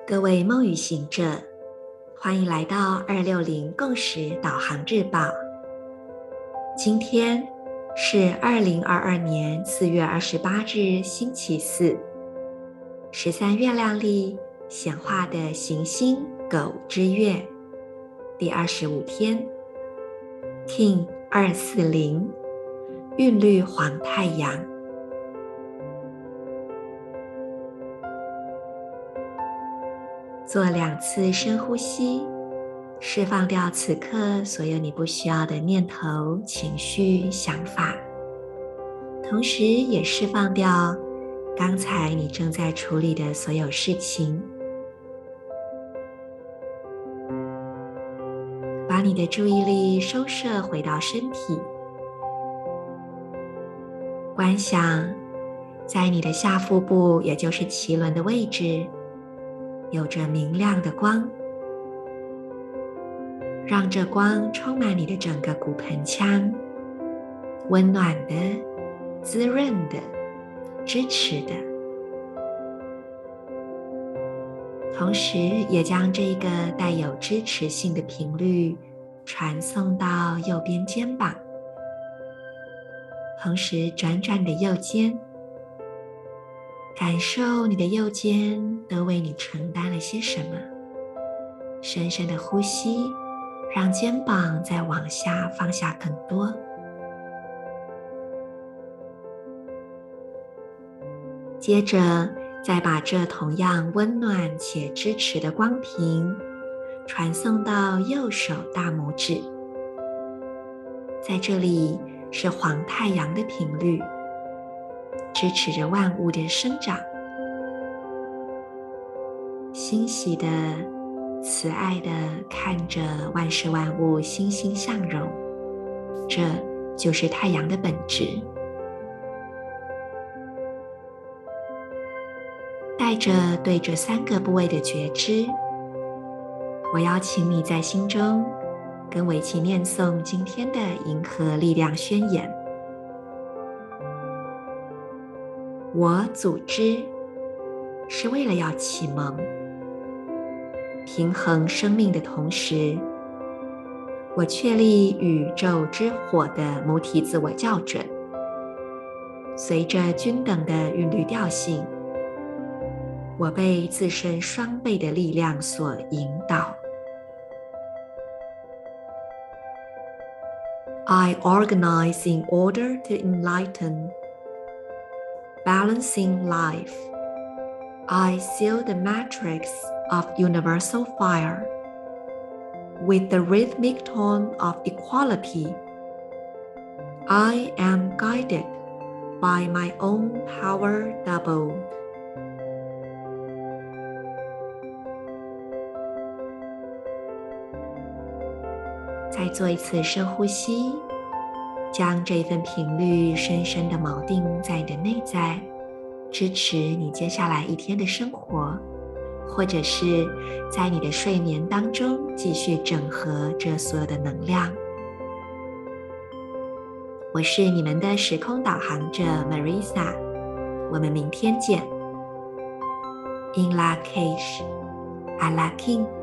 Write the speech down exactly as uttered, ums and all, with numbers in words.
各位梦语行者，欢迎来到二六零共识导航日报。今天是二零二二年四月二十八日星期四，十三月亮历显化的行星狗之月第二十五天 King 二四零韵律黄太阳。做两次深呼吸，释放掉此刻所有你不需要的念头、情绪、想法，同时也释放掉刚才你正在处理的所有事情。把你的注意力收摄回到身体，观想在你的下腹部，也就是脐轮的位置，有着明亮的光，让这光充满你的整个骨盆腔，温暖的、滋润的、支持的。同时也将这个带有支持性的频率传送到右边肩膀，同时转转你的右肩，感受你的右肩都为你承担了些什么。深深的呼吸，让肩膀再往下放下更多。接着再把这同样温暖且支持的光频传送到右手大拇指，在这里是黄太阳的频率，支持着万物的生长。欣喜的、慈爱的看着万事万物欣欣向荣，这就是太阳的本质。带着对这三个部位的觉知，我邀请你在心中跟我一起念诵今天的银河力量宣言。我组织是为了要启蒙、平衡生命的同时，我确立宇宙之火的母体自我校准，随着均等的韵律调性，我被自身双倍的力量所引导。I organize in order to enlighten, balancing life. I seal the matrix of universal fire with the rhythmic tone of equality. I am guided by my own power double. 再做一次深呼吸，将这份频率深深地锚定在你的内在，支持你接下来一天的生活，或者是在你的睡眠当中继续整合这所有的能量。我是你们的时空导航者 Marisa， 我们明天见。In La Cage, A La King。